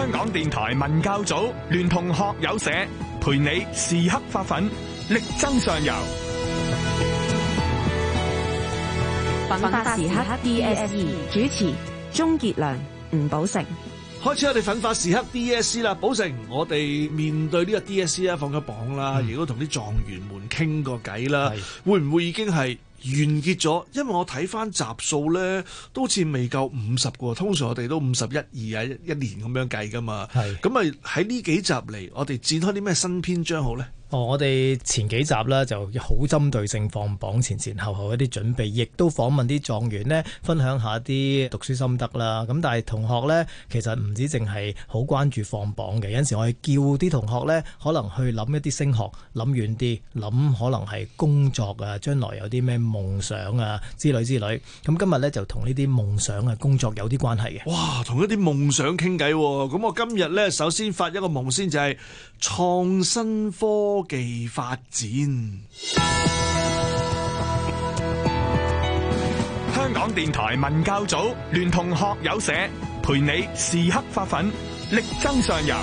香港電台文教組聯同學友社，陪你時刻發奮，力爭上游。 奮發時刻 DSE 主持鍾傑良、吳寶成。 開始我哋奮發時刻 DSE 啦，寶成，我哋面對呢個 DSE 啦，放咗榜啦，亦都同啲狀元們傾過偈啦，會唔會已經係完結咗？因為我睇翻集數咧，都好似未夠50個，通常我哋都51、2啊一年咁樣計噶嘛。咁啊喺呢幾集嚟，我哋展開啲咩新篇章好咧？ 我哋前幾集啦就好針對性放榜前後一啲準備，亦都訪問啲狀元呢，分享下啲讀書心得啦。咁但係同學呢，其實唔止淨係好關注放榜嘅，有陣時我哋叫啲同學呢，可能去諗一啲升學，諗遠啲，諗可能係工作啊，將來有啲咩夢想啊之類。咁今日呢，就同呢啲夢想啊工作有啲關係嘅。 哇，同一啲夢想傾偈喎！咁我今日呢，首先發一個夢先，就係創新科技發展。 香港電台文教組聯同學友社，陪你時刻發奮，力爭上游。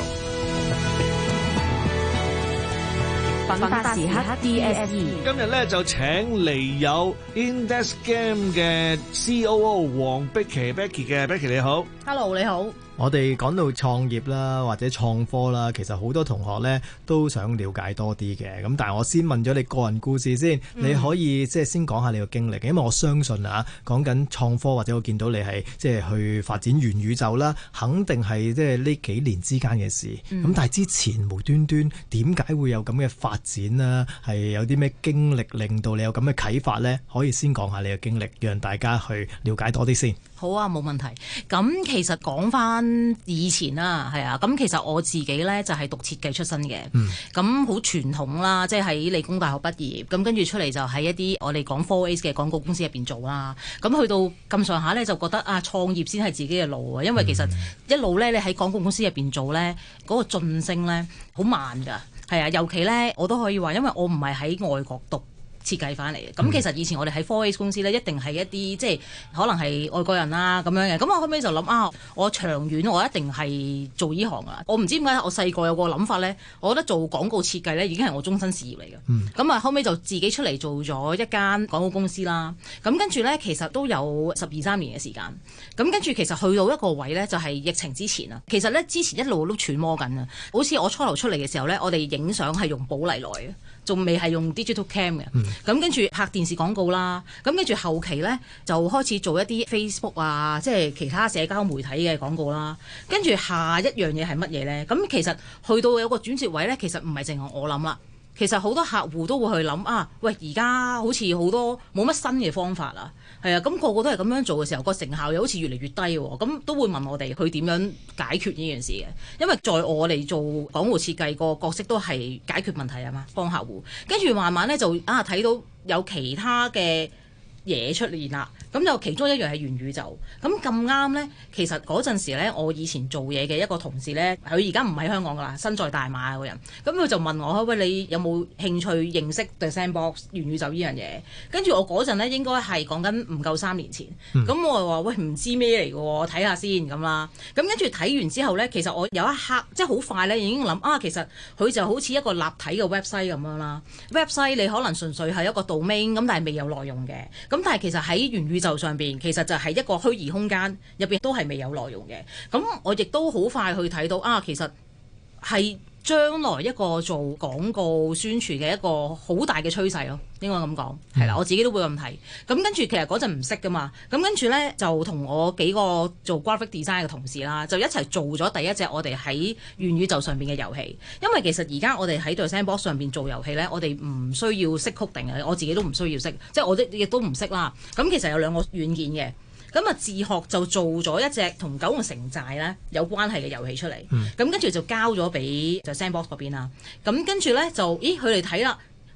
奮發時刻 DSE 今日咧就請嚟有 Index Game 嘅 COO 黃碧琪 Becky 嘅 Becky， 你好。 Hello， 你好。 我哋講到創業啦，或者創科啦，其實好多同學呢都想了解多啲嘅。咁但係我先問咗你個人故事先，你可以即係先講下你個經歷，因為我相信啊，講緊創科或者我見到你係即係去發展元宇宙啦，肯定係即係呢幾年之間嘅事。咁但係之前無端端點解會有咁嘅發展呢？係有啲咩經歷令到你有咁嘅啟發呢？可以先講下你嘅經歷，讓大家去了解多啲先。 好啊，冇問題。咁其實講翻以前啦，係啊，咁其實我自己咧就係讀設計出身嘅，咁好傳統啦，即係喺理工大學畢業，咁跟住出嚟就喺一啲我哋講 4A 嘅廣告公司入邊做啦。咁去到咁上下咧，就覺得啊，創業先係自己嘅路啊，因為其實一路咧你喺廣告公司入邊做咧，嗰個晉升咧好慢㗎，係啊，尤其咧我都可以話，因為我唔係喺外國讀設計翻嚟嘅，咁其實以前我哋喺 4A 公司咧，一定係一啲即係可能係外國人啦咁樣嘅，咁我後尾就諗啊，我長遠我一定係做呢行啊！我唔知點解我細個有個諗法咧，我覺得做廣告設計咧已經係我終身事業嚟嘅。咁啊後尾就自己出嚟做咗一間廣告公司啦。咁跟住咧，其實都有12-13年嘅時間。咁跟住其實去到一個位咧，就係疫情之前啊。其實咧之前一路都揣摩緊啊，好似我初頭出嚟嘅時候咧，我哋影相係用寶麗來嘅，仲未係用 digital cam 嘅。咁跟住拍電視廣告啦，咁跟住後期咧就開始做一啲 Facebook 啊，即係其他社交媒體嘅廣告啦。跟住下一樣嘢係乜嘢咧？咁其實去到有個轉折位咧，其實唔係淨係我諗啦，其實好多客戶都會去諗啊，喂，而家好似好多冇乜新嘅方法啊，係啊，咁個個都係咁樣做嘅時候，個成效又好似越嚟越低喎，咁都會問我哋去點樣解決呢件事嘅，因為在我哋做廣告設計個角色都係解決問題啊嘛，幫客戶，跟住慢慢咧就睇到有其他嘅嘢出現啦，咁就其中一樣係元宇宙。咁咁啱呢，其實嗰陣時呢，我以前做嘢嘅一個同事呢，佢而家唔喺香港噶啦，身在大馬嗰人。咁佢就問我：喂，你有冇興趣認識 The Sandbox 元宇宙呢樣嘢？跟住我嗰陣呢，應該係講緊唔夠3年前。咁我話：喂，唔知咩嚟嘅喎，我睇下先咁啦。咁跟住睇完之後呢，其實我有一刻即係好快呢已經諗啊，其實佢就好似一個立體嘅 website 咁樣啦。website 你可能純粹係一個 domain 咁，但係未有內容嘅。咁但係其實喺元宇宙上邊，其實就係一個虛擬空間入邊都係未有內容嘅。咁我亦都好快去睇到啊，其實係將來一個做廣告宣傳嘅一個好大嘅趨勢咯，應該咁講係啦。我自己都會咁睇。咁跟住其實嗰陣唔識噶嘛，咁跟住咧就同我幾個做 graphic design 嘅同事啦，就一齊做咗第一隻我哋喺元宇宙上邊嘅遊戲。因為其實而家我哋喺 The Sandbox 上邊做遊戲咧，我哋唔需要識 coding嘅，我自己都唔需要識，即係我亦都唔識啦。咁其實有2個軟件嘅。咁啊，自學就做咗一隻同九龍城寨咧有關係嘅遊戲出嚟，咁跟住就交咗俾就 Sandbox 嗰邊啦。咁跟住咧就，咦佢哋睇啦，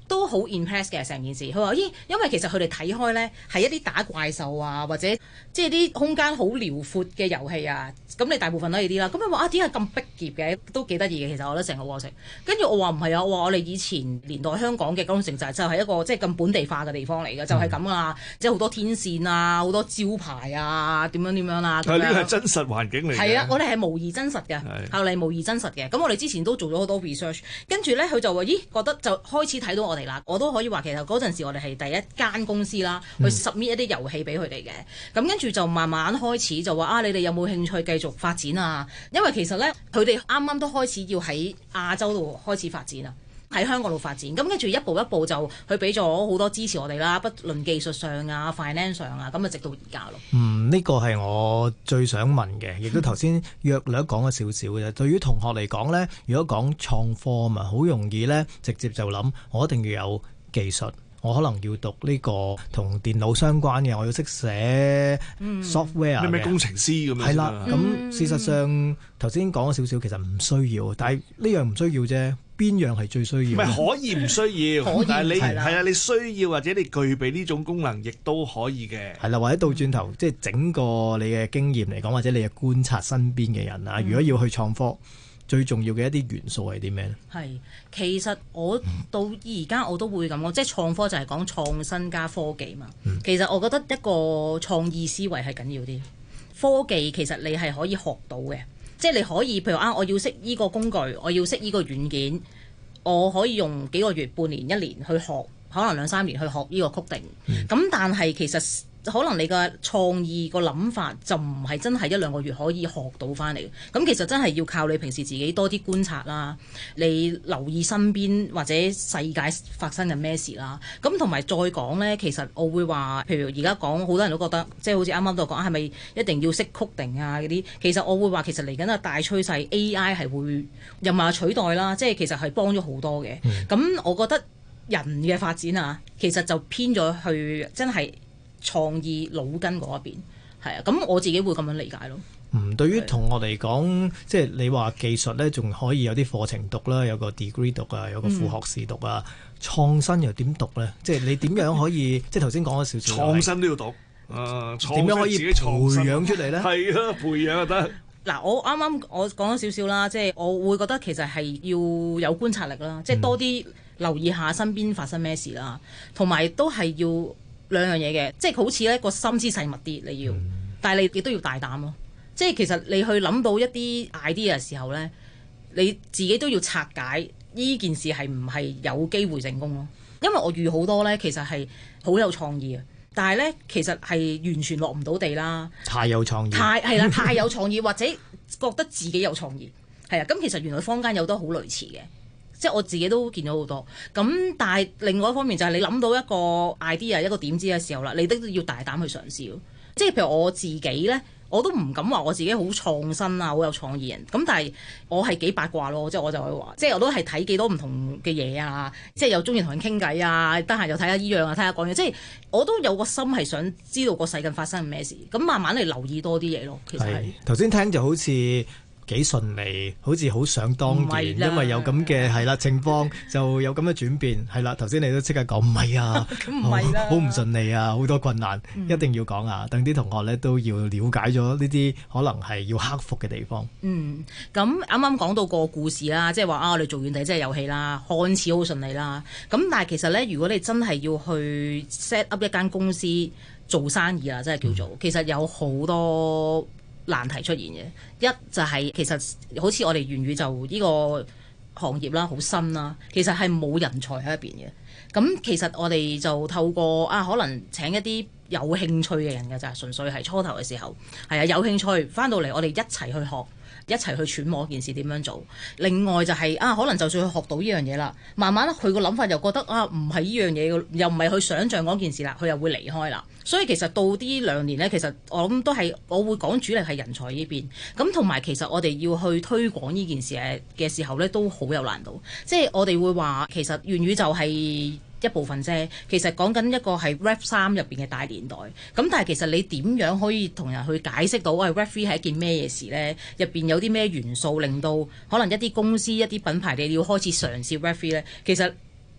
都好 impress 嘅成件事。佢話咦，因為其實佢哋睇開咧係一啲打怪獸啊，或者即係啲空間好遼闊嘅遊戲啊。咁你大部分都係啲啦。咁佢話啊，點解咁逼傑嘅？都幾得意嘅。其實我覺得成個過程。跟住我話唔係啊，我話我哋以前年代香港嘅九龍城就係一個即係咁本地化嘅地方嚟嘅，就係咁啊，即係好多天線啊，好多招牌啊，點樣啦。 係呢個係真實環境嚟嘅。 係啊，我哋係模擬真實嘅，後嚟模擬真實嘅。咁我哋之前都做咗好多 research， 跟住咧佢就話咦，覺得就開始睇到我哋啦。我都可以話其實嗰陣時我哋係第一間公司啦，去 submit 一啲遊戲俾佢哋嘅。咁跟住就慢慢開始就話啊，你哋有冇興趣繼續發展啊？因為其實咧佢哋啱啱都開始要喺亞洲度開始發展啊。喺香港度發展，咁跟住一步一步就佢俾咗好多支持我哋啦，不論技術上啊、finance 上啊，咁啊直到而家咯。 呢個係我最想問嘅，亦都頭先約略講咗少少嘅。對於同學嚟講呢，如果講創科啊嘛，好容易呢直接就諗，我一定要有技術。我可能要讀呢個同電腦相關嘅，我要識寫 software 咩工程師咁樣。 係啦，咁事實上頭先講咗少少，其實唔需要，但係呢樣唔需要啫。邊樣係最需要？唔係可以唔需要，但係你係啊，你需要或者你具備呢種功能，亦都可以嘅。 係啦，或者倒轉頭，即係整個你嘅經驗嚟講，或者你嘅觀察身邊嘅人啊，如果要去創科，最重要嘅一啲元素係啲咩咧？ 係，其實我到而家我都會咁講，即係創科就係講創新加科技嘛。其實我覺得一個創意思維係緊要啲，科技其實你係可以學到嘅。即係你可以，譬如我要識依個工具，我要識依個軟件，我可以用幾個月、半年、一年去學，可能2-3年去學依個 coding。咁但係其實可能你嘅創意個諗法就唔係真係1-2個月可以學到翻嚟。咁其實真係要靠你平時自己多啲觀察啦，你留意身邊或者世界發生緊咩事啦。咁同埋再講呢，其實我會話，譬如而家講好多人都覺得，即係好似啱啱都講，係咪一定要識 coding 啊嗰啲？其實我會話，其實嚟緊嘅大趨勢 AI 係會又唔係取代啦，即係其實係幫咗好多嘅。咁我覺得人嘅發展啊，其實就偏咗去真係創意腦筋嗰一邊，係啊，咁我自己會咁樣理解咯。 對於同學嚟講，即係你話技術咧，仲可以有啲課程讀啦，有個 degree 讀啊，有個副學士讀啊。創新又點讀咧？即係你點樣可以？即係頭先講咗少少。創新都要讀， 點樣可以培養出嚟咧？ 係啊，培養就得。 嗱，我啱啱我講咗少少啦，即係我會覺得其實係要有觀察力啦，即係多啲留意下身邊發生咩事啦，同埋都係要兩樣嘢嘅，即係好似咧個心思細密啲你要，但係你亦都要大膽咯。即係其實你去諗到一啲 idea 嘅時候咧，你自己都要拆解呢件事係唔係有機會成功咯。因為我遇好多咧，其實係好有創意啊，但係咧其實係完全落唔到地啦。 太有創意， 太有創意，或者覺得自己有創意，係啊。咁其實原來坊間有都好類似嘅，即係我自己都見到好多。咁但係另外一方面就係你諗到一個 idea 一個點子嘅時候啦，你都要大膽去嘗試咯。即係譬如我自己咧，我都唔敢話我自己好創新啊，好有創意人。咁但係我係幾八卦咯，即係我就會話，即係我都係睇幾多唔同嘅嘢啊，即係又中意同人傾偈啊，得閒又睇下依樣啊，睇下講嘢，即係我都有個心係想知道個世界發生緊咩事，咁慢慢嚟留意多啲嘢咯。其實係頭先聽就好似幾順利，好似好想當然，因為有咁嘅係啦情況，就有咁嘅轉變係啦。頭先你都即刻講唔係啊， 咁唔係啦， 好唔順利啊，好多困難，一定要講啊，等啲同學咧都要了解咗呢啲可能係要克服嘅地方。 咁啱啱講到個故事啦，即係話我哋做完第一隻遊戲啦，看似好順利啦。咁但係其實咧，如果你真係要去 set up 一間公司做生意啊，即係叫做，其實有好多難題出現嘅。一就係其實好似我哋元宇宙呢個行業啦，好新啦，其實係冇人才喺入邊嘅。咁其實我哋就透過可能請一啲有興趣嘅人嘅咋，純粹係初頭嘅時候係啊，有興趣翻到嚟，我哋一齊去學，一齊去揣摩件事點樣做。另外就係可能就算佢學到呢樣嘢啦，慢慢佢個諗法又覺得唔係呢樣嘢，又唔係佢想像嗰件事啦，佢又會離開啦。所以其實到啲2年呢，其實我諗都係我會講主力係人才呢邊。咁同埋其實我哋要去推廣呢件事嘅時候呢，都好有難度。即係我哋會話其實元宇宙係一部分啫，其實講緊一個係 Web3 入邊嘅大年代。咁但係其實你點樣可以同人去解釋到Web3 係一件咩嘢事呢？入邊有啲咩元素令到可能一啲公司一啲品牌你要開始嘗試 Web3 呢？其實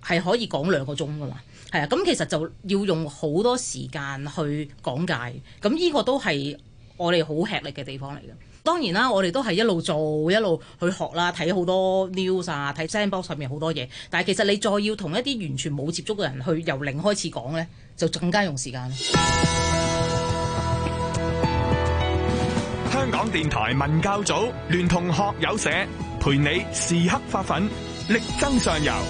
係可以講2個鐘噶嘛。係啊，咁其實就要用好多時間去講解，咁呢個都係我哋好吃力嘅地方嚟嘅。當然啦，我哋都係一路做一路去學啦，睇好多 news 啊，睇 sandbox 上面好多嘢。但係其實你再要同一啲完全冇接觸嘅人去由零開始講呢，就更加用時間。 香港電台文教組聯同學友社，陪你時刻發奮，力爭上游。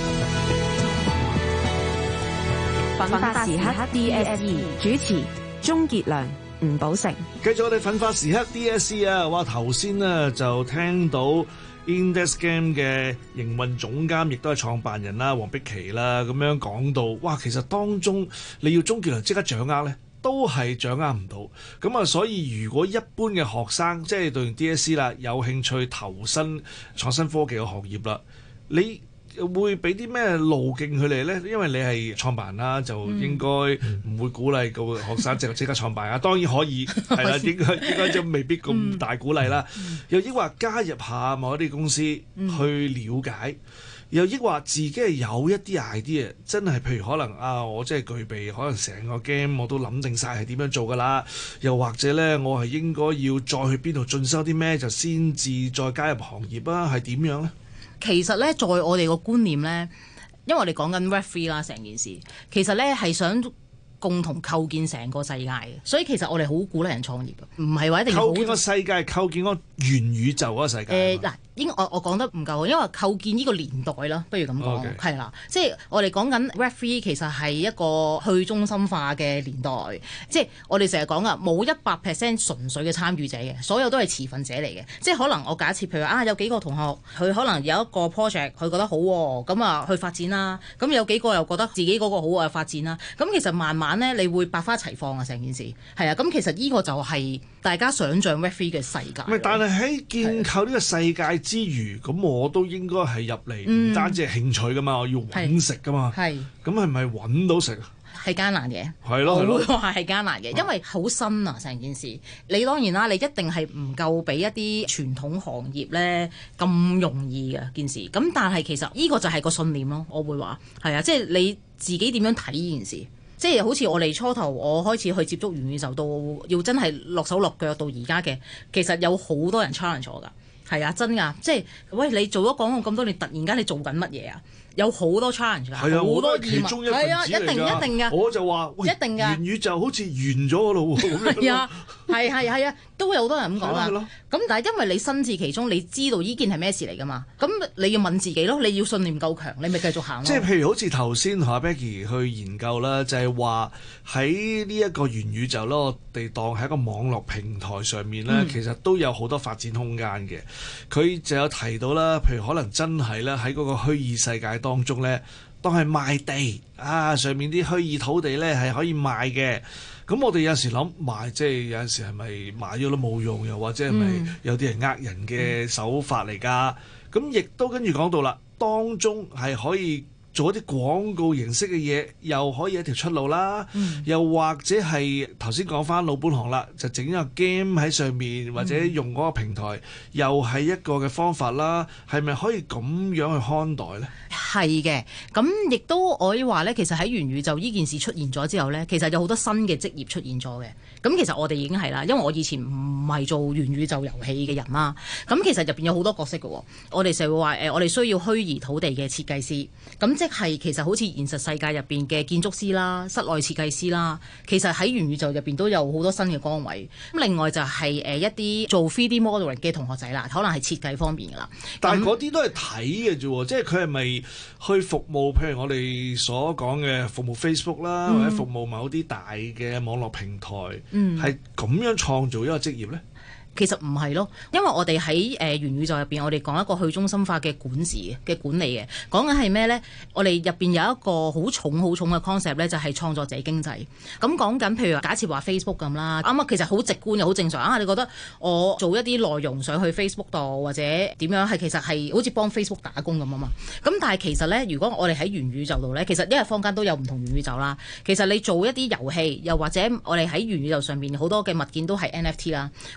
奮發時刻 DSE 主持鍾傑良、吳寶成。 繼續我哋奮發時刻 DSE 啊！哇，頭先呢就聽到 Index Game 嘅營運總監，亦都係創辦人啦，黃碧琪啦，咁樣講到，哇，其實當中你要鍾傑良即刻掌握呢，都係掌握唔到。咁啊，所以如果一般嘅學生即係讀完 DSE 啦，有興趣投身創新科技嘅行業啦，你會俾啲咩路徑佢哋呢？因為你係創辦啦，就應該唔會鼓勵個學生即刻創辦啊。當然可以係啦，應該就未必咁大鼓勵啦。又抑或加入下某一啲公司去了解，又抑或自己係有一啲 idea， 真係譬如可能啊，我真係具備可能成個 game 我都諗定晒係點樣做㗎啦。又或者呢，我係應該要再去邊度進修啲咩，就先至再加入行業啊？係點樣呢？ 其實咧，在我哋個觀念咧，因為我哋講緊 Web3 啦，成件事其實咧係想共同構建成個世界嘅，所以其實我哋好鼓勵人創業嘅，唔係話一定要構建個世界，構建個元宇宙嗰個世界。 嗱，應該我講得唔夠好，因為構建呢個年代啦，不如咁講，係啦，即係我哋講緊 Web3 其實係一個去中心化嘅年代，即係我哋成日講噶，冇100% 純粹嘅參與者嘅，所有都係持份者嚟嘅，即係可能我假設譬如有幾個同學佢可能有一個 project 佢覺得好喎，咁啊去發展啦，咁有幾個又覺得自己嗰個好啊發展啦，咁其實慢慢咧你會百花齊放啊，成件事係啊，咁其實呢個就係大家想像 Web3 嘅世界。 但係喺建構呢個世界之餘，咁我都應該係入嚟，唔單止係興趣噶嘛，我要揾食噶嘛。咁係咪揾到食啊？ 係艱難嘅， 係咯， 我會話係艱難嘅，因為好新啊成件事。你當然啦，你一定係唔夠俾一啲傳統行業咧咁容易嘅件事。咁但係其實呢個就係個信念咯，我會話係啊，即係你自己點樣睇呢件事。即係好似我哋初頭我開始去接觸元宇宙到要真係落手落腳到而家嘅，其實有好多人 challenge 我㗎，係啊，真㗎，即係喂，你做咗廣告咁多年，突然間你做緊乜嘢啊？有好多 challenge 㗎， 係啊，好多其中一份子嚟㗎， 一定㗎， 我就話喂，一定㗎，元宇宙好似完咗㗎咯喎， 係啊，係啊，都有好多人咁講啦。咁但係因為你身至其中，你知道呢件係咩事嚟㗎嘛？咁你要問自己咯，你要信念夠強，你咪繼續行咯。即係譬如好似頭先同阿 Becky 去研究啦，就係話喺呢一個元宇宙啦，我哋當喺一個網絡平台上面咧，其實都有好多發展空間嘅。佢就有提到啦，譬如可能真係咧喺嗰個虛擬世界當中咧，當係賣地啊，上面啲虛擬土地咧係可以賣嘅。咁我哋有時諗賣，即係有陣時係咪買咗都冇用，又或者係咪有啲人呃人嘅手法嚟㗎？咁亦都跟住講到啦，當中係可以做一啲廣告形式嘅嘢，又可以一條出路啦。又或者係頭先講翻老本行啦，就整一個 game 喺上面，或者用嗰個平台，又係一個嘅方法啦。係咪可以咁樣去看待呢？ 係嘅，咁亦都可以話咧，其實喺元宇宙呢件事出現咗之後咧，其實有好多新嘅職業出現咗嘅。咁其實我哋已經係啦，因為我以前唔係做元宇宙遊戲嘅人啦。咁其實入邊有好多角色嘅。我哋成日會話我哋需要虛擬土地嘅設計師。咁即係其實好似現實世界入邊嘅建築師啦、室內設計師啦，其實喺元宇宙入邊都有好多新嘅崗位。咁另外就係一啲做 3D modeling 嘅同學仔啦，可能係設計方面㗎啦。 但係嗰啲都係睇嘅啫，即係佢係咪去服務？譬如我哋所講嘅服務 Facebook 啦，或者服務某啲大嘅網絡平台，係咁樣創造一個職業呢？ 其實唔係咯，因為我哋喺元宇宙入邊，我哋講一個去中心化嘅管治嘅管理嘅，講緊係咩呢？我哋入邊有一個好重嘅 concept 咧，就係創作者經濟。咁講緊譬如假設話 Facebook 咁啦，啱其實好直觀又好正常啊！你覺得我做一啲內容上去 Facebook 度或者點樣，係其實係好似幫 Facebook 打工咁啊嘛。咁但係其實呢，如果我哋喺元宇宙度呢，其實因為坊間都有唔同元宇宙啦。其實你做一啲遊戲，又或者我哋喺元宇宙上面好多嘅物件都係 NFT 啦，賣嗰啲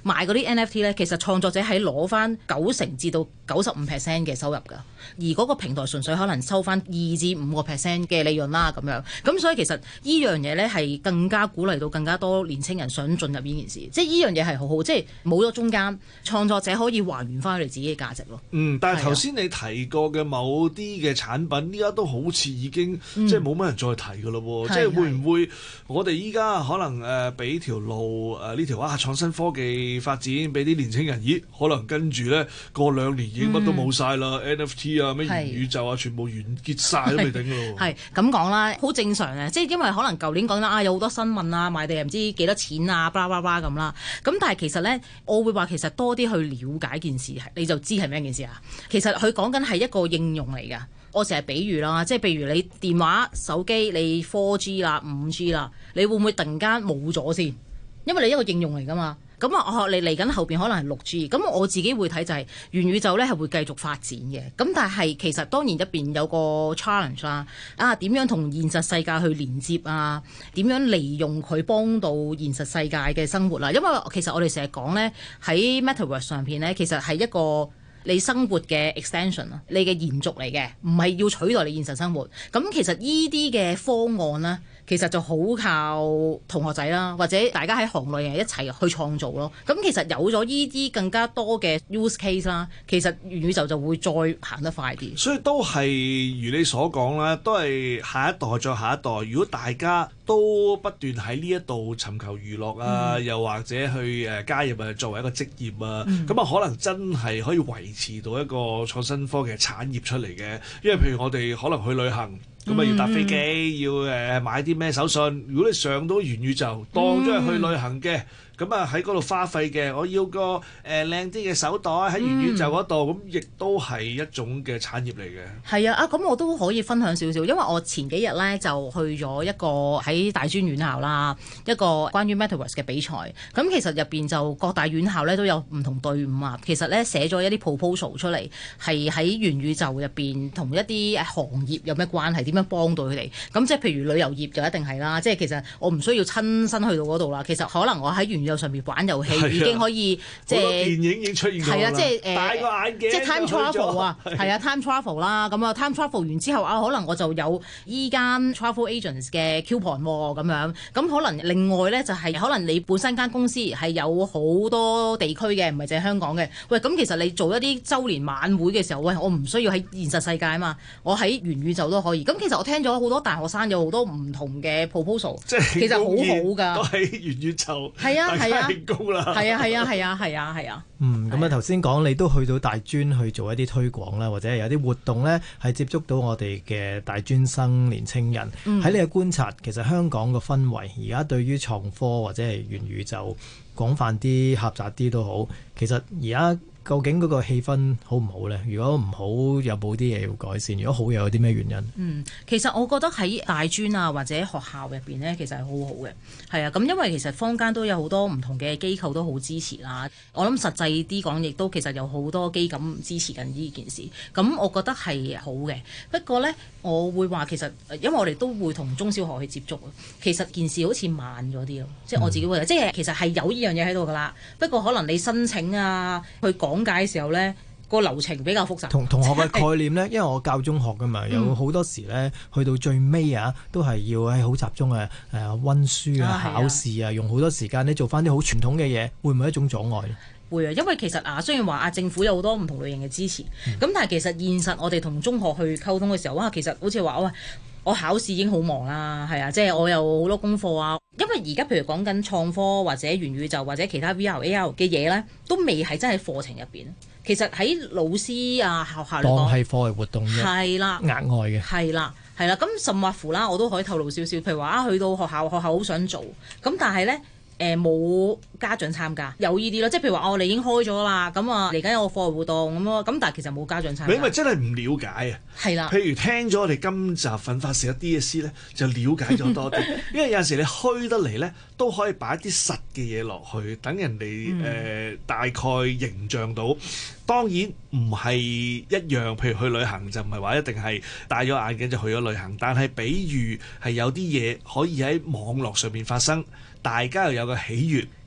啲 NFT 咧，其實創作者係攞翻90%至到95% 嘅收入㗎，而嗰個平台純粹可能收翻2至5% 嘅利潤啦咁樣。咁所以其實呢樣嘢咧係更加鼓勵到更加多年青人想進入呢件事，即係呢樣嘢係好好，即係冇咗中間，創作者可以還原翻佢哋自己嘅價值咯。 但係頭先你提過嘅某啲嘅產品，依家都好似已經即係冇乜人再提㗎咯喎，即係會唔會我哋依家可能俾條路呢條創新科技發展俾啲年青人，咦可能跟住咧過2年已經乜都冇晒啦，NFT 啊咩元宇宙啊全部完結晒都未定㗎咯。 係咁講啦，好正常嘅，即係因為可能舊年講啦有好多新聞啊，賣地又唔知幾多錢啊，巴拉巴拉咁啦。咁但係其實咧，我會話其實多啲去了解件事，你就知係咩件事啊。其實佢講緊係一個應用嚟㗎。我成日比喻啦，即係譬如你電話手機你 4G 啦、5G 啦，你會唔會突然間冇咗先？因為你一個應用嚟㗎嘛。咁啊，你嚟緊後邊可能係6G，咁我自己會睇就係元宇宙咧係會繼續發展嘅。咁但係其實當然入邊有個 challenge 啦，點樣同現實世界去連接啊？點樣利用佢幫到現實世界嘅生活啦？因為其實我哋成日講咧喺 Metaverse 上邊咧，其實係一個你生活嘅 extension 啊，你嘅延續嚟嘅，唔係要取代你現實生活。咁其實呢啲嘅方案咧，其實就好靠同學仔啦，或者大家喺行內人一齊去創造咯。咁其實有咗呢啲更加多嘅 use case 啦，其實元宇宙就會再行得快啲。 所以都係如你所講啦，都係下一代再下一代。如果大家都不斷喺呢一度尋求娛樂啊，又或者去加入作為一個職業啊，咁啊可能真係可以維持到一個創新科技產業出嚟嘅。因為譬如我哋可能去旅行。咁啊要搭飛機，要買啲咩手信。如果你上到元宇宙，當咗係去旅行嘅，咁啊喺嗰度花費嘅，我要個靚啲嘅手袋喺元宇宙嗰度，咁亦都係一種嘅產業嚟嘅。 係啊，咁我都可以分享少少，因為我前幾日咧就去咗一個喺大專院校啦，一個關於 Metaverse 嘅比賽。咁其實入邊就各大院校咧都有唔同隊伍啊，其實咧寫咗一啲 proposal 出嚟，係喺元宇宙入邊同一啲行業有咩關係，點樣幫到佢哋。咁即係譬如旅遊業就一定係啦，即係其實我唔需要親身去到嗰度啦，其實可能我喺元宇宙上面玩遊戲已經可以即係電影已經出現過啦。 係啊，即係戴個眼鏡， 即係 time travel 啊，係啊 time travel 啦。咁啊 time travel 完之後啊，可能我就有依間 travel agents 嘅 coupon 咁樣。咁可能另外咧就係可能你本身間公司係有好多地區嘅，唔係淨係香港嘅。喂，咁其實你做一啲週年晚會嘅時候，喂，我唔需要喺現實世界啊嘛，我喺元宇宙都可以。咁其實我聽咗好多大學生有好多唔同嘅 proposal， 即係其實好好㗎， 都喺元宇宙， 係啊係啊， 興高啦， 係啊係啊係啊係啊係啊。 咁啊頭先講你都去到大專去做一啲推廣啦，或者係有啲活動咧，係接觸到我哋嘅大專生年青人。喺你嘅觀察，其實香港個氛圍而家對於創科或者係元宇宙廣泛啲、狹窄啲都好，其實而家究竟嗰個氣氛好唔好呢？如果唔好，有冇啲嘢要改善？如果好，又有啲咩原因？ 其實我覺得喺大專啊或者學校入邊呢，其實係好好嘅。係啊，咁因為其實坊間都有好多唔同嘅機構都好支持啦。我諗實際啲講，亦都其實有好多機構支持緊呢件事。咁我覺得係好嘅。不過呢，我會話其實，因為我哋都會同中小學去接觸啊。其實件事好似慢咗啲咯，即係我自己會，即係其實係有呢樣嘢喺度㗎啦。不過可能你申請啊，去講解嘅時候呢，個流程比較複雜。 同學嘅概念呢，因為我教中學㗎嘛，有好多時呢，去到最尾啊，都係要喺好集中嘅温書啊、考試啊，用好多時間呢做翻啲好傳統嘅嘢，會唔會一種阻礙呢？ 會啊，因為其實雖然話政府有好多唔同類型嘅支持，咁但係其實現實我哋同中學去溝通嘅時候，其實好似話我考試已經好忙啦，係啊，即係我有好多功課啊。因為而家譬如講緊創科或者元宇宙或者其他 VR、AR 嘅嘢咧，都未係真係課程入邊。其實喺老師啊學校嚟講， 當係課外活動啫， 係啦， 額外嘅， 係啦。咁甚或乎啦，我都可以透露少少。譬如話去到學校好想做，咁但係咧。冇家長參加，有呢啲咯，即係譬如話我哋已經開咗啦，咁嚟緊有個課外活動咁咯，咁但係其實冇家長參加。 因為真係唔了解啊。係啦。譬如聽咗我哋今集奮發時一 DSE 咧，就了解咗多啲。因為有陣時你虛得嚟咧，都可以擺啲實嘅嘢落去，等人哋大概形象到。當然唔係一樣，譬如去旅行就唔係話一定係戴咗眼鏡就去咗旅行，但係比喻係有啲嘢可以喺網絡上面發生，大家又有個喜悅，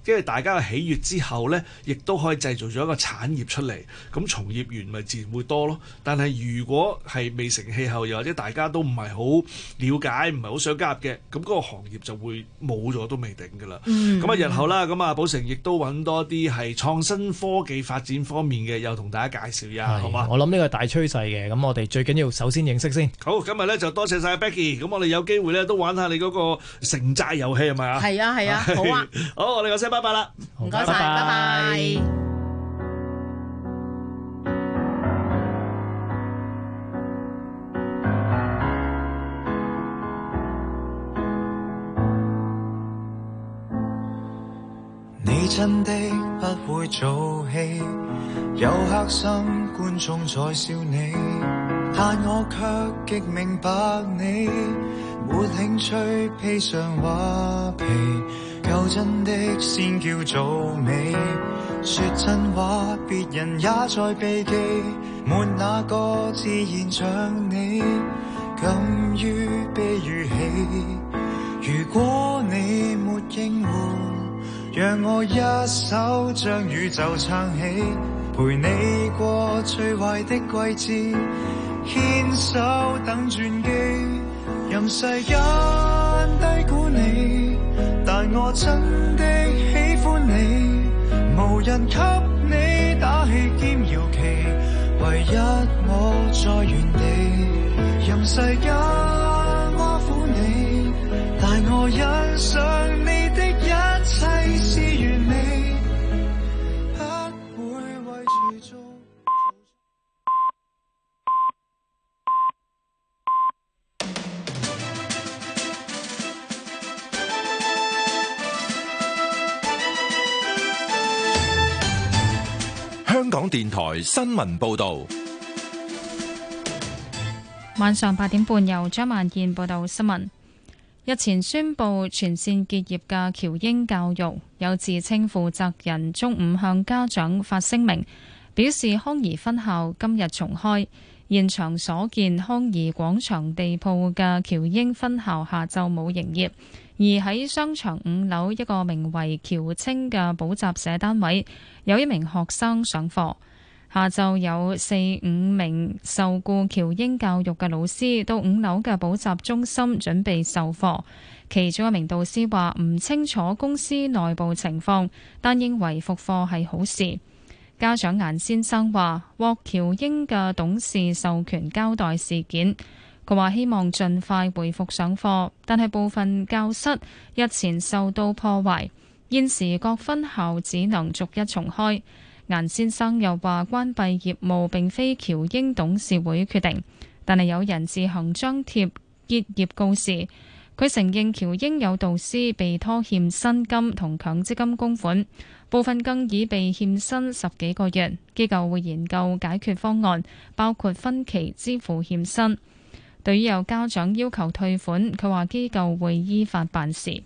因為大家嘅喜悅之後呢，亦都可以製造咗一個產業出嚟，咁從業員咪自然會多咯。但係如果係未成氣候，又或者大家都唔係好了解，唔係好想加入嘅，咁嗰個行業就會冇咗都未定㗎啦。咁日後啦，咁寶成亦都揾多啲係創新科技發展方面嘅，又同大家介紹一下，好嘛？ 我諗呢個大趨勢嘅，咁我哋最緊要首先認識先。 好，今日咧就多謝晒 Becky， 咁我哋有機會咧都玩下你嗰個城寨遊戲係咪啊？ 係啊，好啊。 好，我哋講聲拜拜啦， 唔該晒，拜拜。 你真的不會做戲，有黑心觀眾在笑你，但我卻極明白你沒興趣披上畫皮，夠真的先叫做美，說真話別人也在避忌，沒那個自然像你敢於悲與喜，如果你沒應付，讓我一手將宇宙撐起，陪你過最壞的季節，牽手等轉機，任世間低估你，但我真的喜歡你，無人給你打氣兼搖旗，唯一我在原地，任世間挖苦你，但我欣賞你的一切是完美，不會為住做。 香港電台新聞報道， 晚上8點半由張萬燕報道新聞。日前宣布全線結業嘅喬英教育，有自稱負責人中午向家長發聲明，表示康怡分校今日重開。現場所見，康怡廣場地鋪嘅喬英分校下晝冇營業，而喺商場5樓一個名為喬清嘅補習社單位，有一名學生上課。下晝有4-5名受僱喬英教育嘅老師到5樓嘅補習中心準備授課，其中一名導師話唔清楚公司內部情況，但認為復課係好事。家長顏先生話獲喬英嘅董事授權交代事件，佢話希望盡快回復上課，但係部分教室日前受到破壞，現時各分校只能逐一重開。顏先生又話關閉業務並非喬英董事會決定，但係有人自行張貼結業告示。佢承認喬英有導師被拖欠薪金同強積金供款，部分更已被欠薪10幾個月。機構會研究解決方案，包括分期支付欠薪。對於有家長要求退款，佢話機構會依法辦事。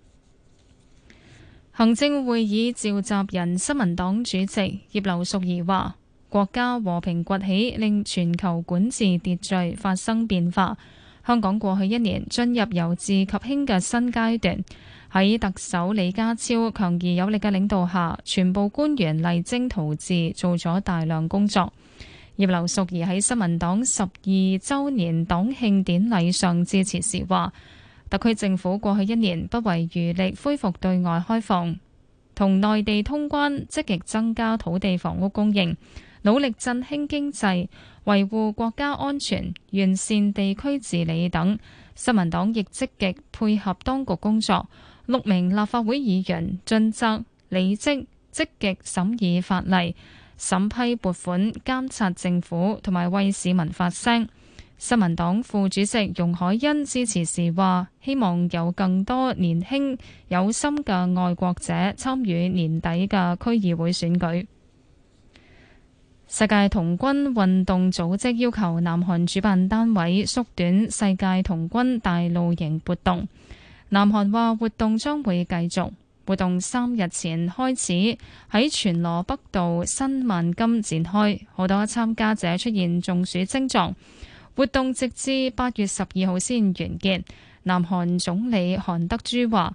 行政會議召集人新民黨主席葉劉淑儀話：國家和平崛起，令全球管治秩序發生變化。香港過去1年進入由治及興嘅新階段。喺特首李家超強而有力嘅領導下，全部官員勵精圖治，做咗大量工作。葉劉淑儀喺新民黨12週年黨慶典禮上致辭時話：特區政府過去1年不遺餘力恢復對外開放，同內地通關，積極增加土地房屋供應，努力振興經濟，維護國家安全，完善地區治理等。新民黨亦積極配合當局工作，6名立法會議員盡責履職，積極審議法例、審批撥款、監察政府同埋為市民發聲。新民黨副主席容海恩致辭時話：希望有更多年輕有心嘅愛國者參與年底嘅區議會選舉。世界童軍運動組織要求南韓主辦單位縮短世界童軍大露營活動。南韓話活動將會繼續，活動3日前開始喺全羅北道新萬金展開，好多參加者出現中暑症狀。活動直至8月12號先完結。南韓總理韓德珠話：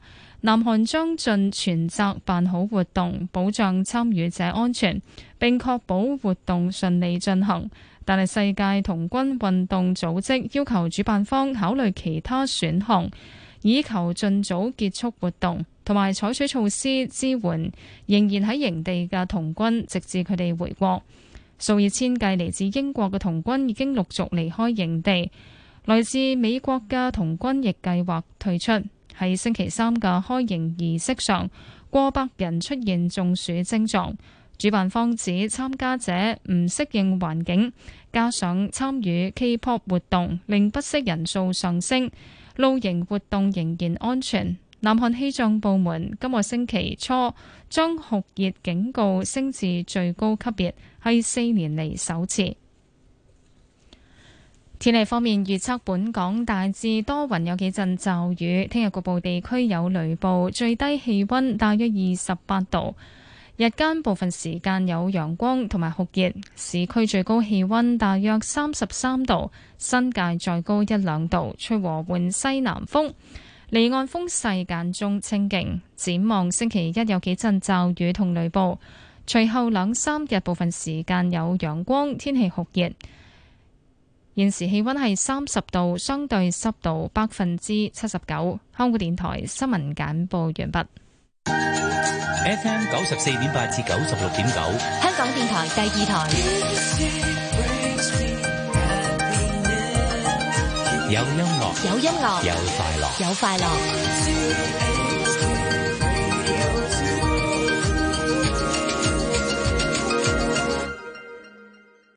南韓將盡全責辦好活動，保障參與者安全，並確保活動順利進行。但係世界童軍運動組織要求主辦方考慮其他選項，以求盡早結束活動，同埋採取措施支援仍然喺營地嘅童軍，直至佢哋回國。數以千計嚟自英國嘅童軍已經陸續離開營地，來自美國嘅童軍亦計劃退出。喺星期三嘅開營儀式上，過百人出現中暑症狀。主辦方指參加者唔適應環境，加上參與 K-pop 活動令不適人數上升，露營活動仍然安全。南韓氣象部門今個星期初將酷熱警告升至最高級別，係4年嚟首次。天氣方面預測，本港大致多雲，有幾陣驟雨。聽日局部地區有雷暴，最低氣溫大約28度。日間部分時間有陽光同埋酷熱，市區最高氣溫大約33度，新界再高1-2度，吹和緩西南風。離岸風勢間中清勁。展望星期一有幾陣驟雨同雷暴，隨後2-3日部分時間有陽光，天氣酷熱。現時氣溫係30度，相對濕度79%。香港電台新聞簡報完畢。 FM 94.8至96.9， 香港電台第2台。 有音樂， 有音樂， 有快樂， 有快樂。